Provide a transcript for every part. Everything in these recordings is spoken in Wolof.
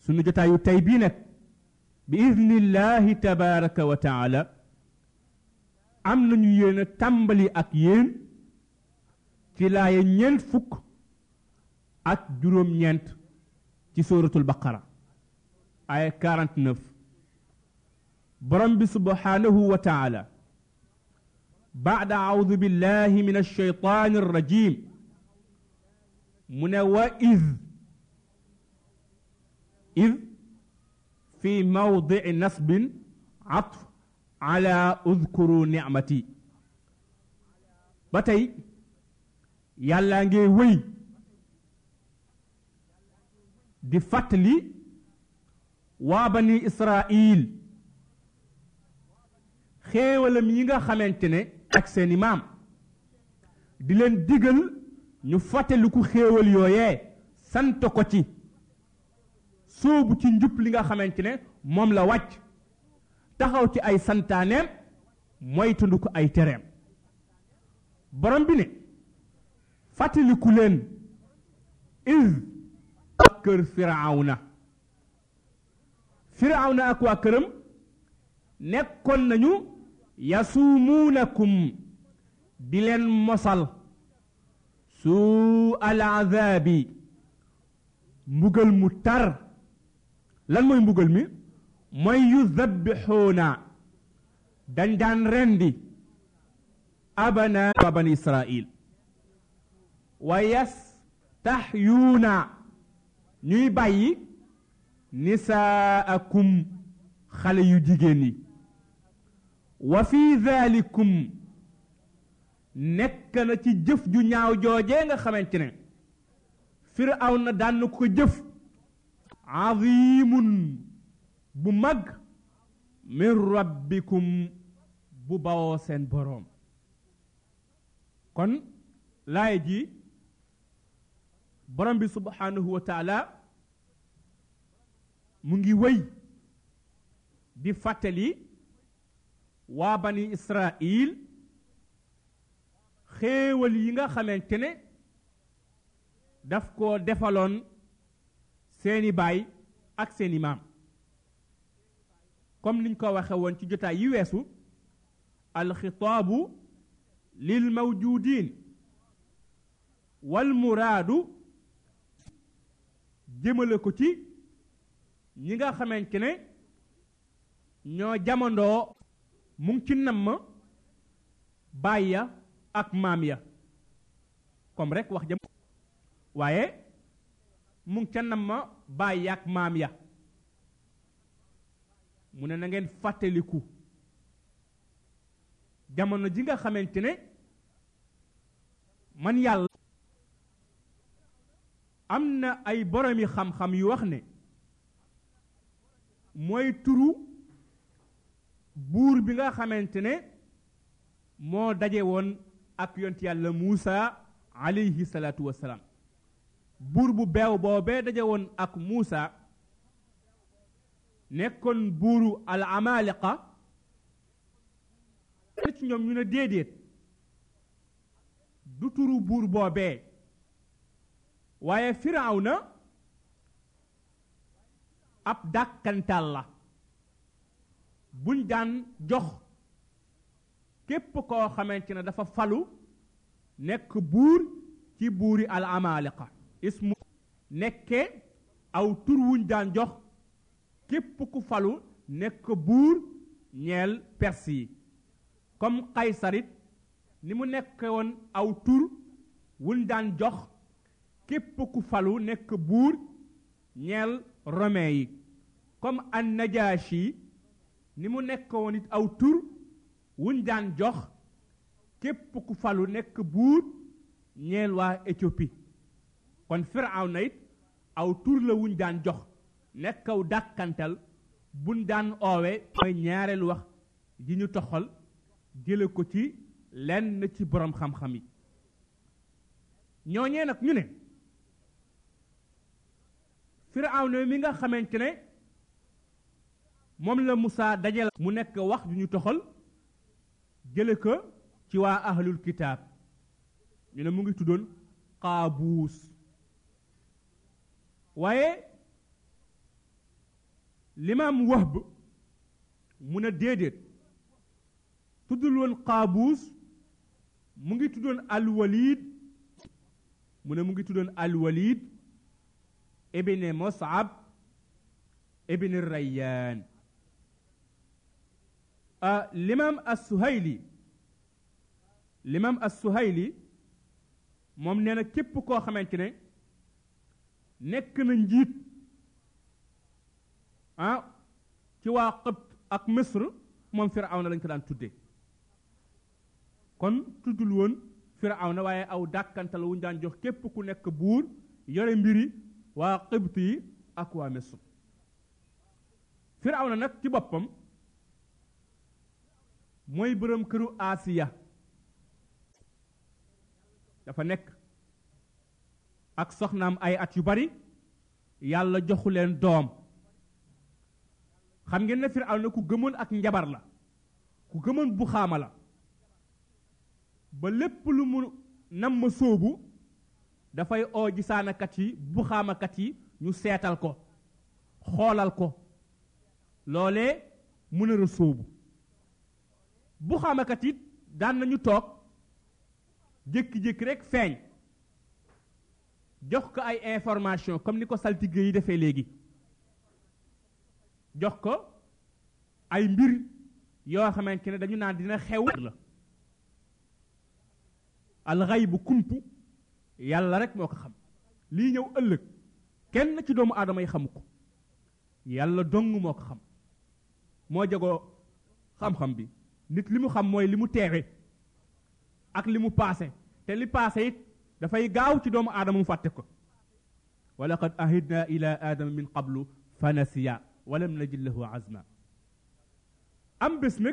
sunu jotaayu tey bii nag bi idnillahi tabaraka wa taala am nañu yéen a tàmbali ak yéen ci laaya ñeent fukk ak juróom-ñeent ci suratul baqara aya 49 borom bi subhanahu wa taala بعد أعوذ بالله من الشيطان الرجيم من وإذ إذ في موضع نصب عطف على اذكروا نعمتي باتاي يالا نغي وي دي فاتلي وبني إسرائيل xéewalam yi nga xamante ne ak seeni maam di leen digal ñu fàttaliku xéewal yooyee sant ko ci sóobu ci njub li nga xamante ne moom la wàcc taxaw ci ay santaaneem moytandu ko ay tereem borom bi ne fàttaliku leen iz ak kër firawna ak waa këram nekkoon nañu yasuumuunakum di leen mosal suu al azaabi mbugal mu tar lan mooy mbugal mi mooy yuzabbixuuna dañ daan rendi abanaa bani israil wa yastaxyuuna ñuy bàyyi nisaakum xale yu jigéen yi wa fi dhalikum nekk na ci jëf ju ñaaw joojee nga xamante ne Firawna daan na ko jëf azimun bu mag min rabbikum bu bawoo seen boroom kon laay ji borom bi subhanahu wa taala mu ngi wëy di fàttali waa bani Israil xéewal yi nga xamante ne daf ko defaloon seeni baay ak seeni maam comme niñ ko waxe woon ci jotaay yi weesu alxitaabu lil mawjudin wal muraadu jëmale ko ci ñi nga xamante ne ñoo jamandoo mu ngi ci namm baay ya ak maam ya comme rek wax jam waaye mu ngi ca namm baay ya ak maam ya mu ne na ngeen fàttaliku jamono ji nga xamante ne man yàlla am na ay boromi xam-xam yu wax ne mooy turu buur bi nga xamante ne moo daje woon ak yonent yàlla Muusa alayhi salaatu wassalaam buur bu beew boobee daje woon ak Muusa nekkoon buuru al amaliqa ci ñoom ñu ne déedéet du turu buur boobee waaye Firawna ab dàkkantal la buñ daan jox képp koo xamante ne dafa falu nekk buur ci buuri al amaliqa ismu nekke aw tur wuñ daan jox képp ku falu nekk buur ñeel perse yi comme Qaysarit ni mu nekke woon aw tur wuñ daan jox képp ku falu nekk buur ñeel romain yi comme an Najashi ni mu nekk woon it aw tur wuñ daan jox képp ku falu nekk buur ñeel waa Éthiopie kon Firawna it aw tur la wuñ daan jox nekkaw dàkkantal buñ daan oowe mooy ñaareelu wax ji ñu toxal jële ko ci lenn ci borom xam-xam yi ñooñee nag ñu ne Firawna mi nga xamante ne moom la Musaa dajal mu nekk wax ju ñu toxal jële ko ci waa ahlul kitaab ñu ne mu ngi tuddoon Qaabuus waaye limaam Wahb mu ne déedéet tuddul woon Qaabuus mu ngi tuddoon Alwalid mu ne mu ngi tuddoon Alwalid ibn Mus'ab ibn Rayyaan limaam as-Suhayli moom nee na képp koo xamante ne nekk na njiit ci waa Qibt ak Misr moom Firawna lañ ko daan tudde kon tuddul woon Firawna waaye aw dàkkantal wuñ daan jox képp ku nekk buur yore mbiri waa Qibt yi ak waa Misr Firawna nag ci boppam mooy boroom këru Asiya dafa nekk ak soxnaam ay at yu bari yàlla joxu leen doom xam ngeen ne Firawna ku gëmoon ak njabar la ku gëmoon bu xaama la ba lépp lu mu nam ma sóobu dafay oo gisaanakat yi bu xaamakat yi ñu seetal ko xoolal ko loolee mu nar a sóobu bu xaamakat yi daan nañu toog jékki-jékki rek feeñ jox ko ay information comme ni ko saltige yi defee léegi jox ko ay mbir yoo xamante ne dañu naan dina xew la alxaybu kumpu yàlla rek moo ko xam lii ñëw ëllëg kenn ci doomu aadama yi xamu ko yàlla dong moo ko xam moo jagoo xam-xam bi nit li mu xam mooy li mu teewe ak li mu paase te li paase it dafay gaaw ci doomu aadama mu fàtte ko wa laqad ahidna ila aadama min qablu fa nasiya walam najid lahu azma am bés nag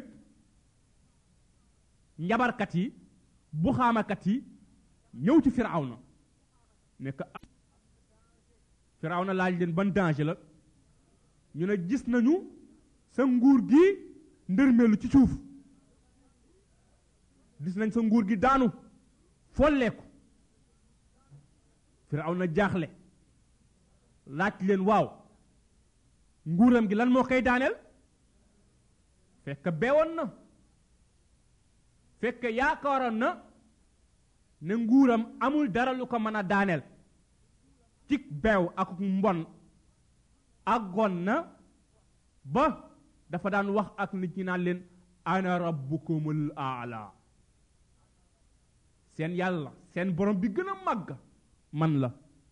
njabarkat yi bu xaamakat yi ñëw ci Firawna nekk Firawna laaj leen ban danger la ñu ne gis nañu sa nguur gi ndërmeelu ci suuf gis nañ sa nguur gi daanu folleeku Firawna jaaxle laaj leen waaw nguuram gi lan moo koy daaneel fekk beewoon na fekk yaakaaroon na ne nguuram amul dara lu ko mën a daaneel cig beew ak mbon àggoon na ba dafa daan wax ak nit ñi naan leen ana rabbukumul aala seen yàlla seen borom bi gën a màgg man la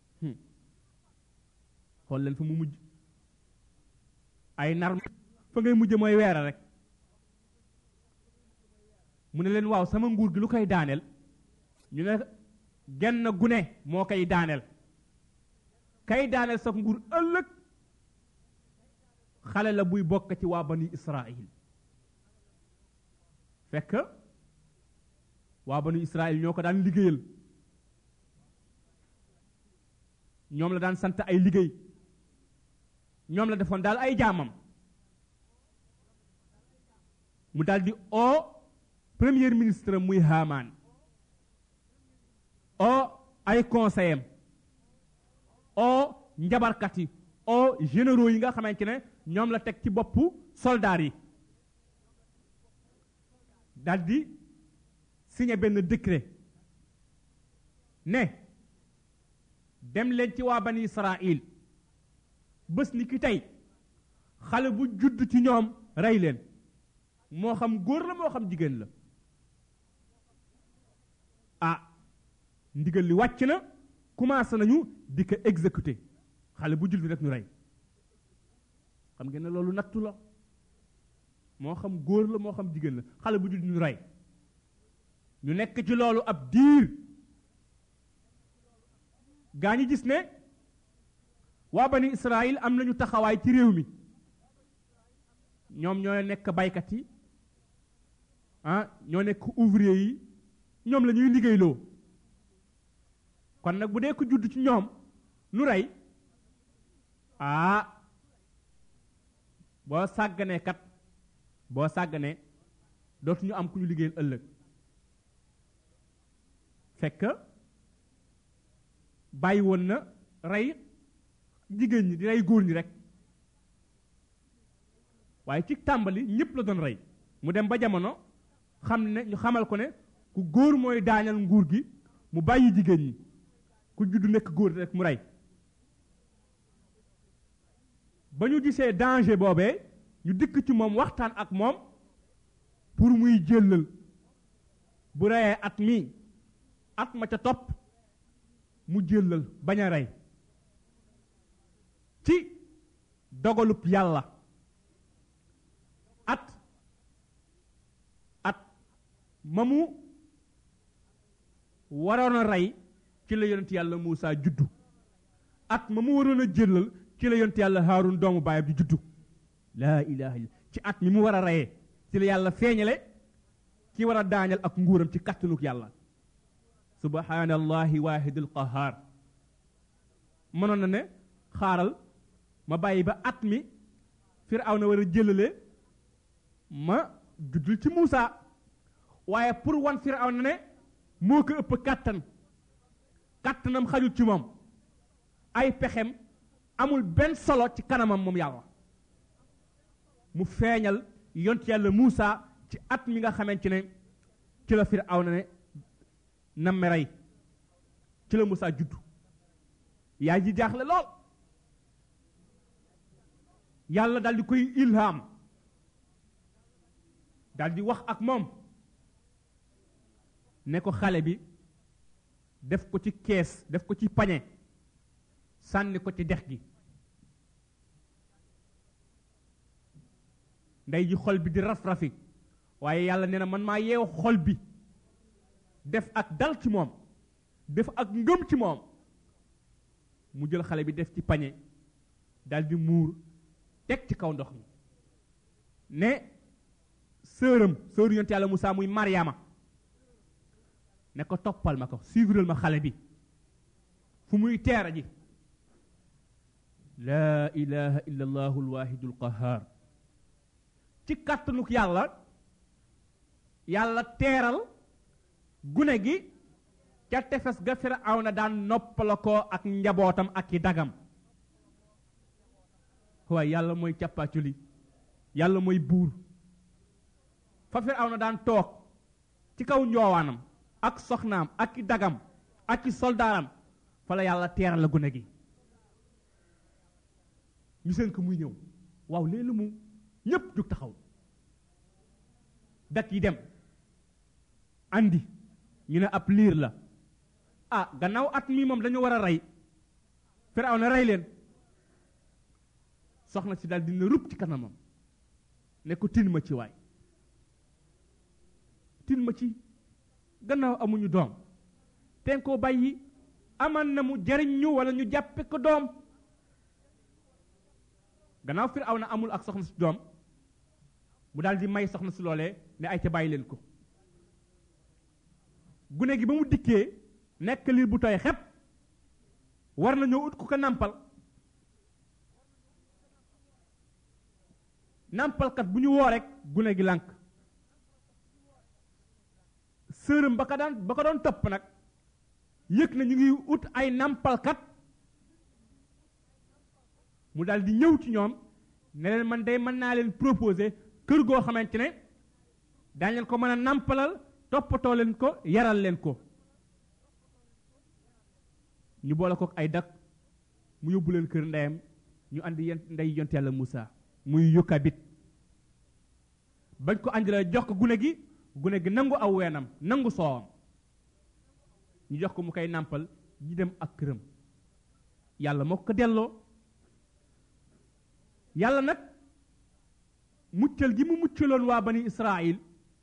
xool leen fa mu mujj ay nar fa ngay mujj mooy weera rek mu ne leen waaw sama nguur gi lu koy daaneel ñu ne genn gune moo koy daaneel kay daaneel sa nguur ëllëg xale la buy bokk ci waa bani Israil fekk waa bani Israil ñoo ko daan liggéeyal ñoom la daan sant ay liggéey ñoom la defoon daal ay jaamam mu daal di oo premier ministre muy Haamaan oo ay conseillers oo njabarkat yi oo généraux yi nga xamante ne ñoom la teg ci boppu soldats yi daal di signé benn décret ne dem leen ci waa bani Israil bés ni ki tey xale bu judd ci ñoom rey leen moo xam góor la moo xam jigéen la ndigal li wàcc na commencé nañu di ko exécuter xale bu judd rek ñu rey xam ngeen ne loolu nattu la moo xam góor la moo xam jigéen la xale bu judd ñu rey ñu nekk ci loolu ab diir gaa ñi gis ne waa bani Israël am nañu taxawaay ci réew mi ñoom ñoo nekk baykat yi ñoo nekk ouvrier yi ñoom la ñuy liggéeyloo kon nag bu dee ko judd ci ñoom nu rey boo sàgganee kat boo sàgganee dootuñu am ku ñu liggéeyal ëllëg fekk bàyyi woon na rey jigéen ñi di rey góor ñi rek waaye ci tàmbali ñëpp la doon rey mu dem ba jamono xam ne ñu xamal ko ne ku góor mooy daañal nguur gi mu bàyyi jigéen ñi ku judd nekk góor rek mu rey ba ñu gisee danger boobee ñu dikk ci moom waxtaan ak moom pour muy jëllal bu reyee at mi at ma ca topp mu jëllal bañ a rey ci dogalub yàlla at ma mu waroon a rey ci la yonent yàlla Muusa juddu at ma mu waroon a jëllal ci la yonent yàlla Haarun doomu baayam di juddu laa ilaha illa ci at mi mu war a reyee ci la yàlla feeñale ki war a daañal ak nguuram ci kattanuk yàlla subhanallahi waahidul qahaar mënoon na ne xaaral ma bàyyi ba at mi Firawna war a jëlale ma juddul ci Muusa waaye pour wan Firawna ne moo ko ëpp kàttanam xajul ci moom ay pexem amul benn solo ci kanamam moom yàlla mu feeñal yont yàlla Muusa ci at mi nga xamante ne ci la Firawna ne namme rey ci la Muusa juddu yaay ji jaaxle lool yàlla dal di koy ilham dal di wax ak moom ne ko xale bi def ko ci kees def ko ci pañe sànni ko ci dex gi ndey ji xol bi di raf-rafi waaye yàlla nee na man maa yeew xol bi def ak dal ci moom def ak ngëm ci moom mu jël xale bi def ci pañe dal di muur teg ci kaw ndox mi ne sëru yonent yàlla Muusa muy Mariama ne ko toppal ma ko suivral ma xale bi fu muy teera ji laa ilaha illa allahu alwahidul qahar ci kàttanuk yàlla teeral gune gi ca tefes ga Firawna daan noppala ko ak njabootam ak i dagam waaye yàlla mooy càppaaculi yàlla mooy buur fa Firawna daan toog ci kaw njoowaanam ak soxnaam ak i dagam ak i soldaaram fa la yàlla teeral la gune gi ñu seen ko muy ñëw waaw léegi mu ñépp jóg taxaw dak yi dem andi ñu ne ab liir la ah gannaaw at mii moom dañu war a rey Firawna rey leen soxna si daal dina rub ci kanamam ne ko tin ma ci waay tin ma ci gannaaw amuñu doom ten koo bàyyi aman na mu jariñ ñu wala ñu jàppe ko doom gannaaw Firawna amul ak soxna si doom mu daal di may soxna si loolee ne ay ca bàyyi leen ko gune gi ba mu dikkee nekk liir bu tooy xepp war na ñoo ut ku ko nàmpal nàmpalkat bu ñu woo rek gune gi lànk sërëm ba ko doon topp nag yëg na ñu ngi ut ay nàmpalkat mu daal di ñëw ci ñoom ne leen man day mën naa leen proposer kër goo xamante ne daañ leen ko mën a nàmpalal toppatoo leen ko yaral leen ko ñu boole ko ay dak mu yóbbu leen kër ndeyam ñu andi ndey yont yàlla Muusa muy Yokabit bañ ko andilee jox ko gune gi nangu aw weenam nangu soowam ñu jox ko mu koy nàmpal ñi dem ak këram yàlla moo ko delloo yàlla nag muccal gi mu muccaloon waa bani Israil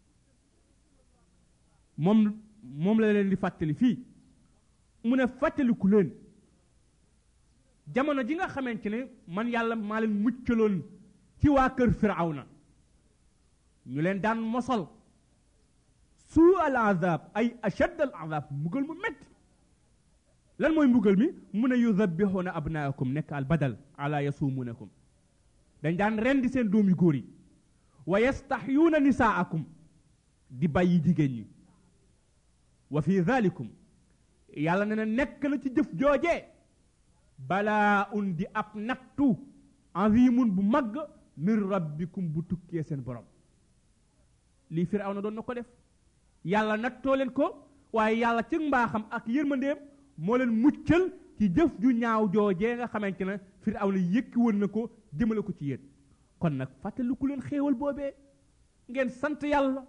moom la leen di fàttali fii mu ne fàttaliku leen jamono ji nga xamante ne man yàlla maa leen muccaloon ci waa kër Firawna ñu leen daan mosal suu al azab ay ashad al azab mbugal mu metti lan mooy mbugal mi mu ne yudabbihuna abnaakum nekk al badal ala yasumunakum dañ daan rendi seen doom yu góor yi wa yastahyuuna nisaakum di bàyyi jigéen ñi wa fi dhalikum yàlla ne na nekk na ci jëf joojee balaa un di ab nattu azimun bu mag min rabbikum bu tukkee seen borom lii Firawna doon na ko def yàlla nattoo leen ko waaye yàlla ci mbaaxam ak yërmandeem moo leen muccal ci jëf ju ñaaw joojee nga xamante ne Firawna yëkki woon na ko jëmale ko ci yéen kon nag fàttaliku leen xéewal boobee ngeen sant yàlla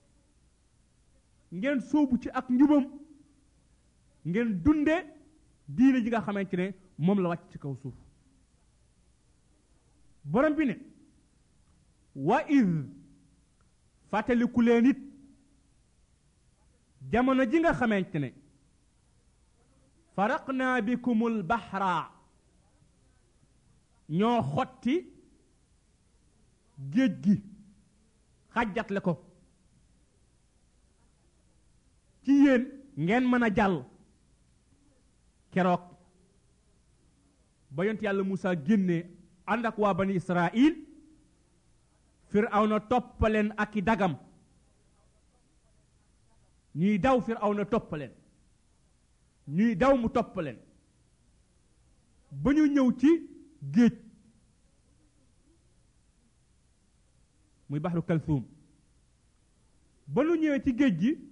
ngeen sóobu ci ak njubam ngeen dunde diine ji nga xamante ne moom la wàcc ci kaw suuf borom bi ne wa id fàttaliku leen it jamono ji nga xamante ne faraqnaa bikumul baxra ñoo xotti géej gi xàjjatle ko ci yéen ngeen mën a jàll keroog ba yont yàlla Muusaa génnee ànd ak waa bani Israil Firawna toppaleen ak i dagam ñuy daw Firawna toppaleen ñuy daw mu toppaleen ba ñu ñëw ci géej muy baxru Kalsuum ba ñu ñëwee ci géej gi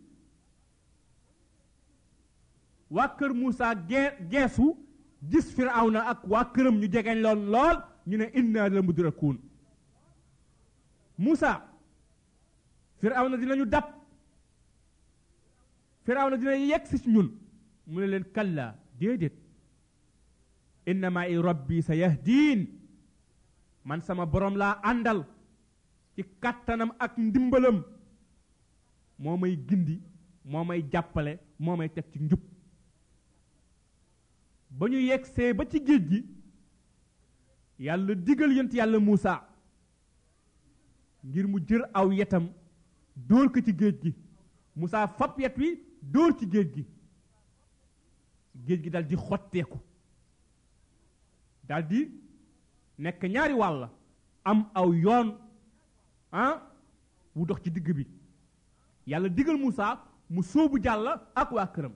waa kër Muusaa geesu gis Firawna ak waa këram ñu jegeñ lool ñu ne inna la mudrakuun Muusaa Firawna dinañu dab Firawna dina yegg si ñun mu ne leen kalla déedéet inna ma'i rabbi sa yahdiin man sama borom laa àndal ci kàttanam ak ndimbalam moo may gindi moo may jàppale moo may teg ci njub ba ñu yeggsee ba ci géej gi yàlla digal yent yàlla Muusaa ngir mu jër aw yetam dóor ko ci géej gi Muusaa fab yet wi dóor ci géej gi dal di xotteeku dal di nekk ñaari wàll am aw yoon wu dox ci digg bi yàlla digal Muusaa mu sóobu jàll ak waa këram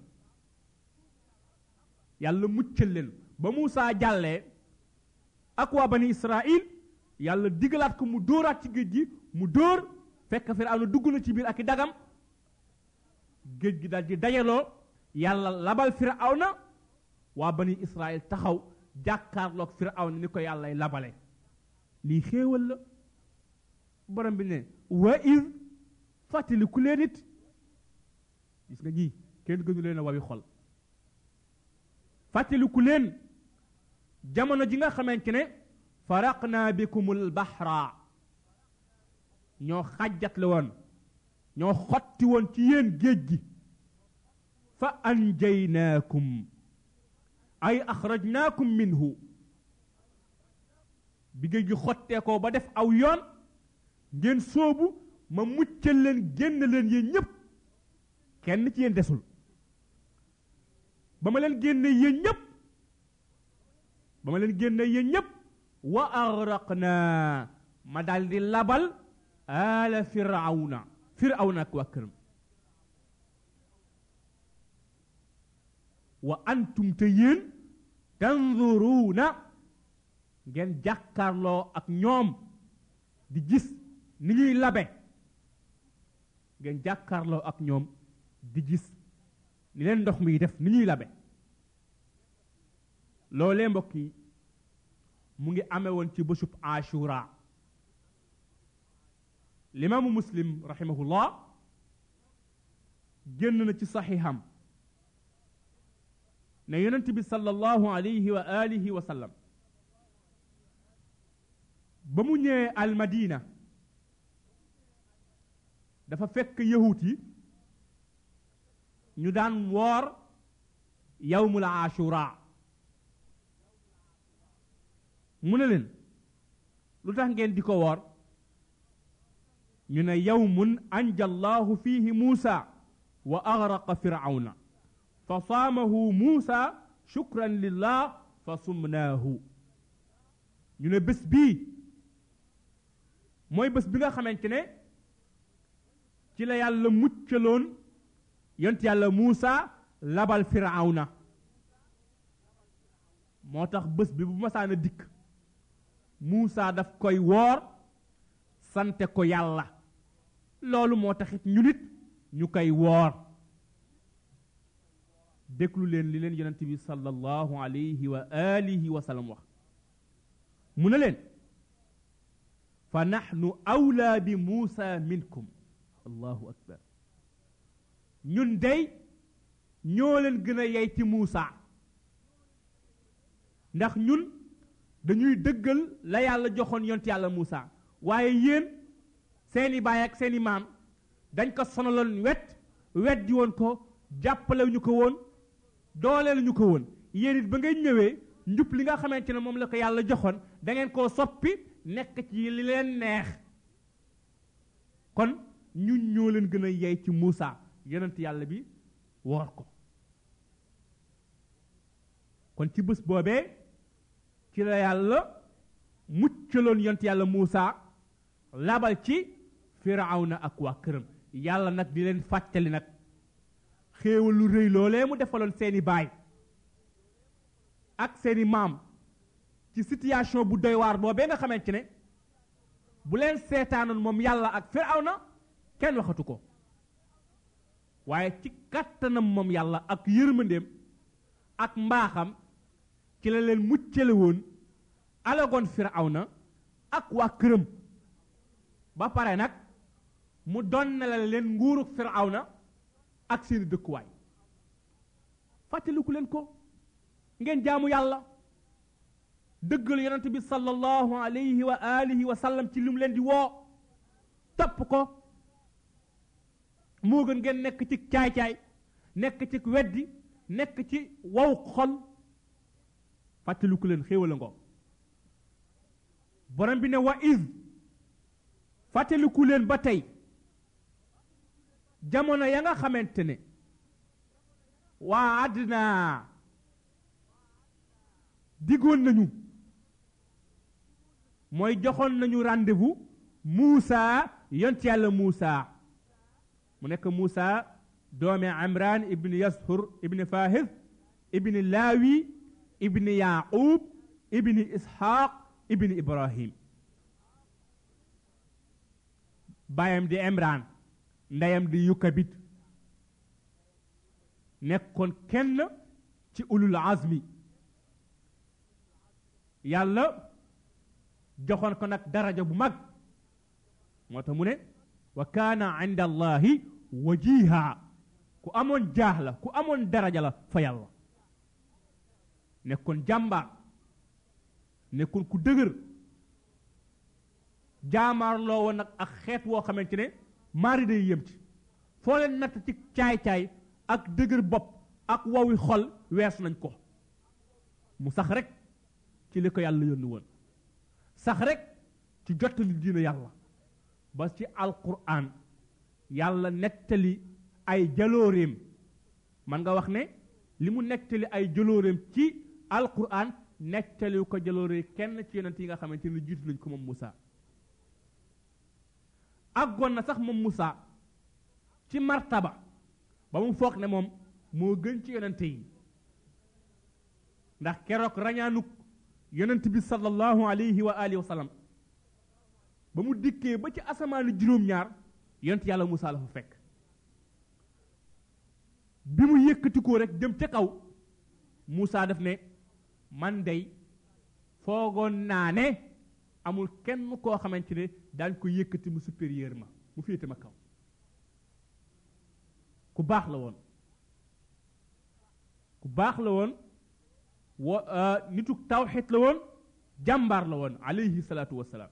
yàlla muccal leen ba Muusaa jàllee ak waa bani Israil yàlla digalaat ko mu dóoraat ci géej gi mu dóor fekk Firawna dugg na ci biir ak i dagam géej gi dal di dajaloo yàlla labal Firawna waa bani Israil taxaw jàkkaarloog Firawna ni ko yàllay labale lii xéewal la borom bi ne wa iz fàttaliku leen it gis nga ñii kenn gënu leen a wawi xol fàttaliku leen jamono ji nga xamante ne faraqnaa bikumul baxra ñoo xàjjatle woon ñoo xotti woon ci yéen géej gi fa anjaynaakum ay axrajnaakum minhu bi géej gi xottee ko ba def aw yoon ngeen sóobu ma muccal leen génn leen yéen ñépp kenn ci yéen desul ba ma leen génne yéen ñépp wa agraqnaa ma daldi labal ala firawna ak waa këram wa antum te yéen tanzuruuna ngeen jàkkaarloo ak ñoom di gis ni ñuy labe ngeen jàkkaarloo ak ñoom di gis ni leen ndox mi def ni ñuy labe loolee mbokk yi mu ngi amee woon ci bésub Ashura limaamu Muslim rahimahullah génn na ci saxiixam ne yonent bi sallallahu alayhi wa alihi wa sallam ba mu ñëwee almadina dafa fekk yahut yi ñu daan woor yawmul Ashura mu ne leen lu tax ngeen di ko woor ñu ne yawmun anja allahu fihi Muusa wa aghraqa firawna fa saamahu Muusa shukran lillah fa sumnaahu ñu ne bés bii mooy bés bi nga xamante ne ci la yàlla muccaloon yont yàlla Muusa labal firawna moo tax bés bi bu masaana dikk Muusa daf koy woor sante ko yàlla loolu moo taxit ñu nit ñu koy woor déglu leen li leen yonent bi sallallahu alayhi wa alihi wa sallam wax mu ne leen fa nahnu awlaa bi Muusa minkum allahu akbar ñun dey ñoo leen gën a yey ci Muusa ndax ñun dañuy dëggal la yàlla joxoon yonent yàlla Muusa waaye yéen seeni baay ak seeni maam dañ ko sonaloon wet di woon ko jàppale ñu ko woon dooleel ñu ko woon yéen it ba ngay ñëwee njub li nga xamante ne moom la ko yàlla joxoon da ngeen koo soppi nekk ci li leen neex kon ñun ñoo leen gën a yey ci Muusa yonent yàlla bi woor ko kon ci bés boobee ci la yàlla muccaloon yonent yàlla Muusa labal ci Firawna ak waa këram yàlla nag di leen fàttali nag xéewal lu rëy loolee mu defaloon seeni baay ak seeni maam ci situation bu doy waar boobee nga xamante ne bu leen seetaanoon moom yàlla ak Firawna kenn waxatu ko waaye ci kàttanam moom yàlla ak yërmandeem ak mbaaxam ci la leen muccale woon alagoon Firawna ak waa këram ba pare nag mu donnale leen nguurug Firawna ak seeni dëkkuwaay fàttaliku leen ko ngeen jaamu yàlla dëggal yonent bi sallallahu alayhi wa alihi wa sallam ci li mu leen di woo topp ko moo gën ngeen nekk ci caay-caay nekk ci weddi nekk ci wow xol fàttaliku leen xéewal a ngoo borom bi ne wa iz fàttaliku leen ba tey jamono ya nga xamante ne waa àddina diggoon nañu mooy joxoon nañu rendez-vous Muusa yont yàlla Muusa mu nekk Muusa doomi Imran ibni Yashur ibni Fahis ibni Laawi ibni Yaaqub ibni Ishaq ibni Ibrahim baayam di Imran ndeyam di Yukabit nekkoon kenn ci ulul azmi yàlla joxoon ko nag daraja bu mag moo tax mu ne wa kaana inda allahi wajiha ku amoon jaax la ku amoon daraja la fa yàlla nekkoon jàmbaar nekkoon ku dëgër jaamaarloo woon nag ak xeet woo xamante ne maari day yem ci foo leen natt ci caay-caay ak dëgër bopp ak wawi xol wees nañ ko mu sax rek ci li ko yàlla yónni woon sax rek ci jottali diina yàlla ba ci alquran yàlla nettali ay jalooreem man nga wax ne li mu nettali ay jalooreem ci alquran nettali ko jaloore kenn ci yonent yi nga xamante ne jiitu nañ ko moom Moussa àggoon na sax moom Moussa ci martaba ba mu foog ne moom moo gën ci yonent yi ndax keroog rañaanuk yonent bi sallallahu alayhi wa alihi wa sallam ba mu dikkee ba ci asamaanu juróom-ñaar yonent yàlla Moussa la fa fekk bi mu yëkkati ko rek jëm ca kaw Moussa def ne man dey foogoon naa ne amul kenn koo xamante ne daañ ko yëkkati mu supérieur ma mu féete ma kaw ku baax la woon ku baax la woon nitu tawxid la woon jàmbaar la woon alayhi salaatu wassalaam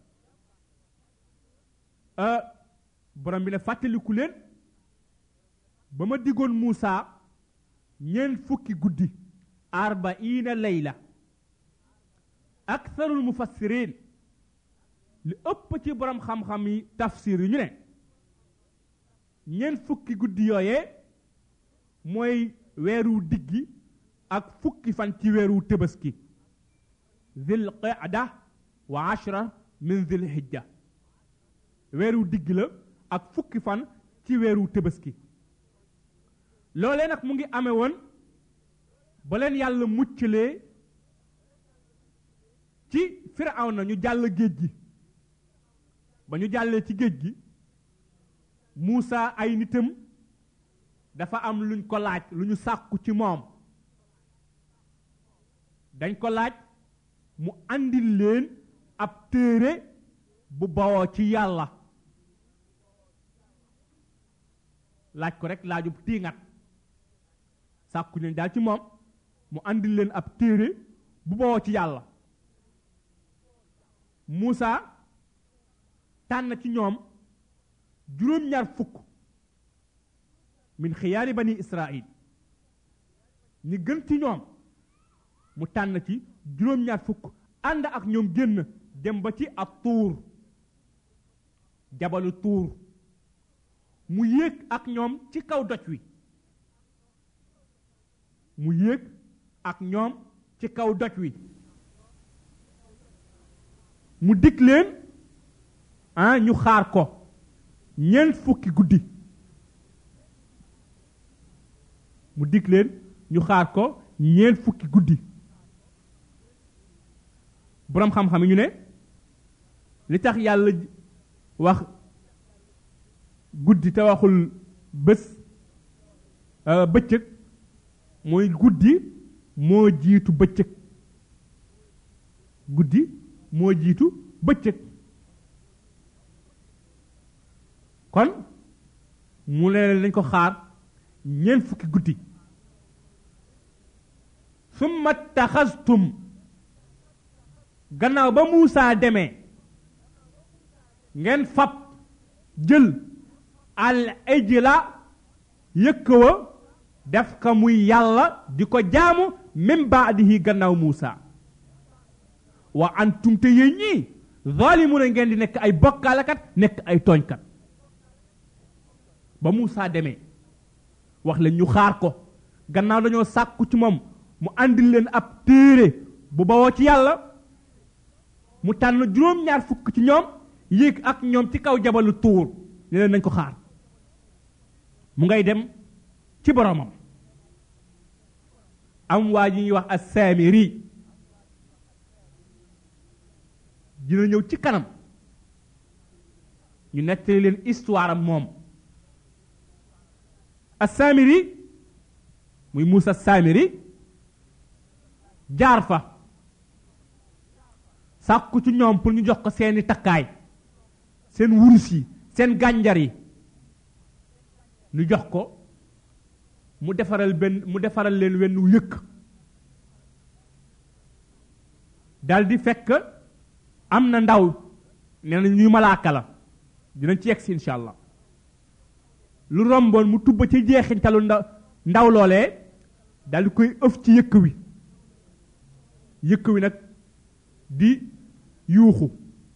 borom bi ne fàttaliku leen ba ma diggoon Moussa ñeent fukki guddi 40 layla aktharul mufassirin li ëpp ci borom xam-xam yi tafsir yi ñu ne ñeent fukki guddi yooyee mooy weeru diggi ak fukki fan ci weeru tëbaski zil qa'da wa 10 min zil hijja weeru diggi la ak fukki fan ci weeru tëbaski loolee nag mu ngi amee woon ba leen yàlla muccalee ci Firawna ñu jàll géej gi ba ñu jàllee ci géej gi Muusa ay nitam dafa am luñ ko laaj lu ñu sàkku ci moom dañ ko laaj mu andil leen ab téere bu bawoo ci yàlla laaj ko rek laajub tiingat sàkku leen daal ci moom mu andil leen ab téere bu bawoo ci yàlla Muusa tànn ci ñoom juróom-ñaar fukk min xiyaari bani Israil ñi gën ci ñoom mu tànn ci juróom-ñaar fukk ànd ak ñoom génn dem ba ci ak tuur jabalu tuur mu yéeg ak ñoom ci kaw doj wi mu yéeg ak ñoom ci kaw doj wi mu dig leen ñu xaar ko ñeent fukki guddi mu dig leen ñu xaar ko ñeent fukki guddi boroom xam-xam yi ñu ne li tax yàlla wax guddi te waxul bëccëg mooy guddi moo jiitu bëccëg guddi moo jiitu bëccëg kon mu leen lañ ko xaar ñeent fukki guddi summa taxastum gannaaw ba Muusaa demee ngeen fab jël al ijla yëkk wa def ka muy yàlla di ko jaamu min baadihi gannaaw Muusaa wa antum te yéen ñii zalimuna ngeen di nekk ay bokkaalekat nekk ay tooñkat ba Muusaa demee wax leen ñu xaar ko gannaaw dañoo sàkku ci moom mu andil leen ab téere bu bawoo ci yàlla mu tànn juróom-ñaar fukk ci ñoom yéeg ak ñoom ci kaw jabalu tuur ne leen nañ ko xaar mu ngay dem ci boromam am waa ji ñuy wax as-Saamiri dina ñëw ci kanam ñu nettali leen histoire am moom as-Saamiri muy Muusa as-Saamiri jaar fa sàkku ci ñoom pour ñu jox ko seeni takkaay seen wurus yi seen gànjar yi ñu jox ko mu defaral leen wenn yëkk daldi fekk am na ndaw nee na ñuy malaaka la dinañ ci yegsi insha allah lu romboon mu tubba ci jeexintalu ndaw loolee daldi koy ëf ci yëkk wi nag di yuuxu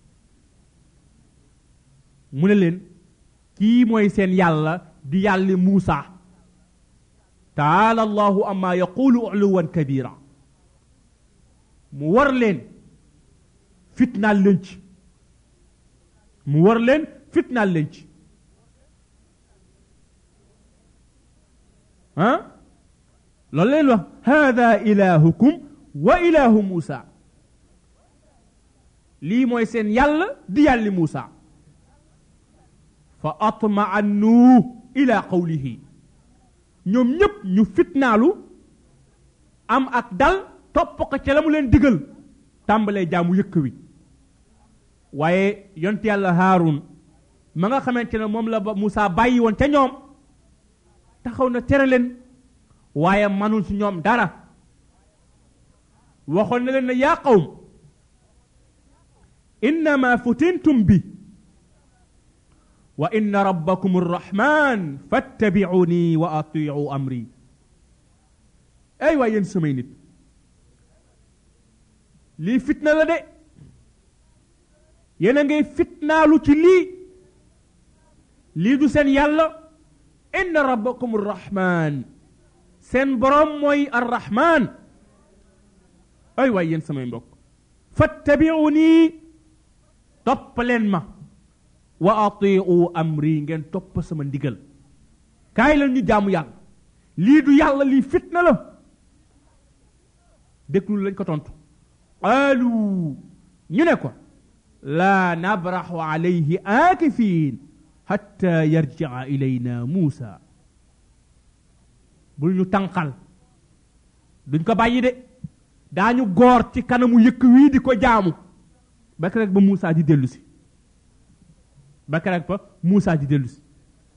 mu ne leen kii mooy seen yàlla di yàlli Muusa taala allahu amma yaqulu uluwan kabira mu war leen fitnaal leen ci loolu leen wax hada ilahukum wa ilahu Muusa lii mooy seen yàlla di yàlli Muusa fa atma'annu ila qawlihi ñoom ñépp ñu fitnaalu am ak dal topp ko ca la mu leen digal tàmbalee jaamu yëkk wi waaye yont yàlla Haarun ma nga xamante ne moom la ba Muusa bàyyi woon ca ñoom taxaw na tere leen waaye manul ci ñoom dara waxoon na leen ne yaa qawm innama futintum bi wa inna rabbakum arrahman fattabi'uni wa ati'u amri ay waay yéen samay nit lii fitna la de yéen a ngay fitnaalu ci lii du seen yàlla inna rabbakum arrahman seen borom mooy arrahman ay waay yéen samay mbokk fattabi'uni topp leen ma wa ati'u amri ngeen topp sama ndigal kaay leen ñu jaamu yàlla lii du yàlla lii fitna la déglul lañ ko tontu qaalu ñu ne ko laa nabraxu alayhi aakifiin hatta yarji'a ilayna Muusa bul ñu tànqal duñ ko bàyyi de daañu goor ci kanamu yëkk wii di ko jaamu ba keroog ba Muusa di dellu si ba keroog ba Muusa di dellu si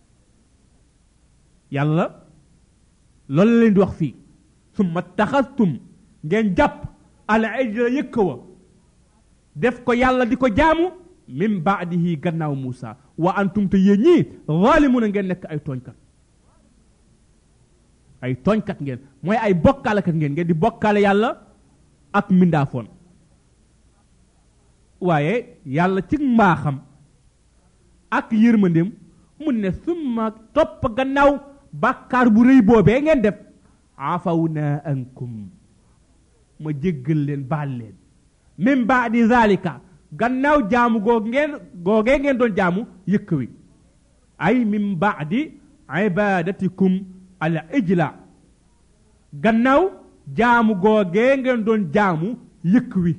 yàlla loolu la leen di wax fii summa taxastum ngeen jàpp al ijla yëkk wa def ko yàlla di ko jaamu min baadihi gannaaw Muusa wa antum te yéen ñii zalimuna ngeen nekk ay tooñkat ngeen mooy ay bokkaalekat ngeen di bokkaale yàlla ak mbindaafoon waaye yàlla ci mbaaxam ak yërmandeem mun ne summa topp gannaaw bàkkaar bu rëy boobee ngeen def afawna ankum ma jéggal leen baal leen min baadi zalika gannaaw jaamu googee ngeen doon jaamu yëkk wi ay min baadi ibadatikum al ijla gannaaw jaamu googee ngeen doon jaamu yëkk wi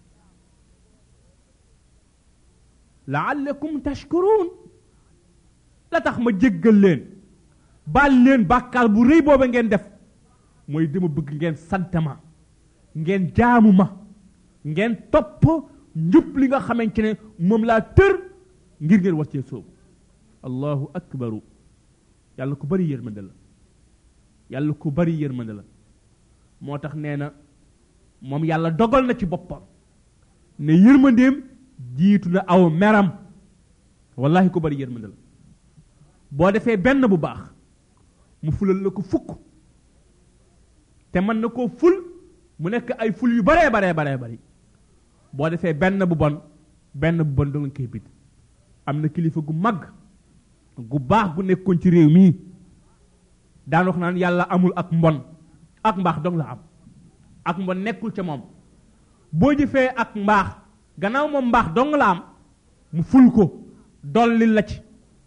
laallakum tashkurun la tax ma jéggal leen baal leen bàkkaar bu rëy booba ngeen def mooy dama bëgg ngeen sant ma ngeen jaamu ma ngeen topp njub li nga xamante ne moom laa tër ngir ngeen war cee soobu allahu akbaru yàlla ku bari yërmande la yàlla ku bari yërmande la moo tax nee na moom yàlla dogal na ci boppam ne yërmandeem jiitu na aw meram wallahi ku bari yërmande la boo defee benn bu baax mu fulal la ko fukk te mën na koo ful mu nekk ay ful yu baree bari boo defee benn bu bon doo nga koy bit am na kilifa gu mag gu baax gu nekkoon ci réew mii daan wax naan yàlla amul ak mbon ak mbaax dong la am ak mbon nekkul ca moom boo jëfee ak mbaax gannaaw moom mbaax dong la am mu ful ko dolli la ci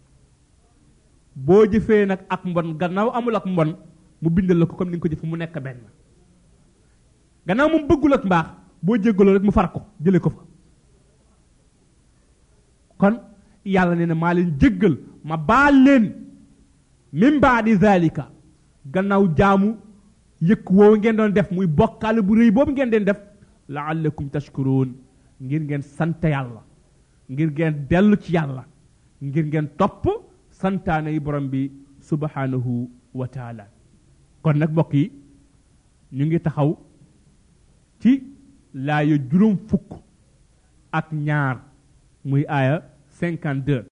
boo jëfee nag ak mbon gannaaw amul ak mbon mu bindal la ko comme ni nga ko jëfe mu nekk benn gannaaw moom bëggul ak mbaax boo jéggaloo rek mu far ko jële ko fa kon yàlla nee na maa leen jéggal ma baal leen min baadi zalika gannaaw jaamu yëkk woowu ngeen doon def muy bokkaale bu rëy boobu ngeen doon def laallakum tashkuruun ngir ngeen sant yàlla ngir ngeen dellu ci yàlla ngir ngeen topp santaane yi borom bi subhanahu wa taala kon nag mbokk yi ñu ngi taxaw ci laaya juróom fukk ak ñaar muy aaya 52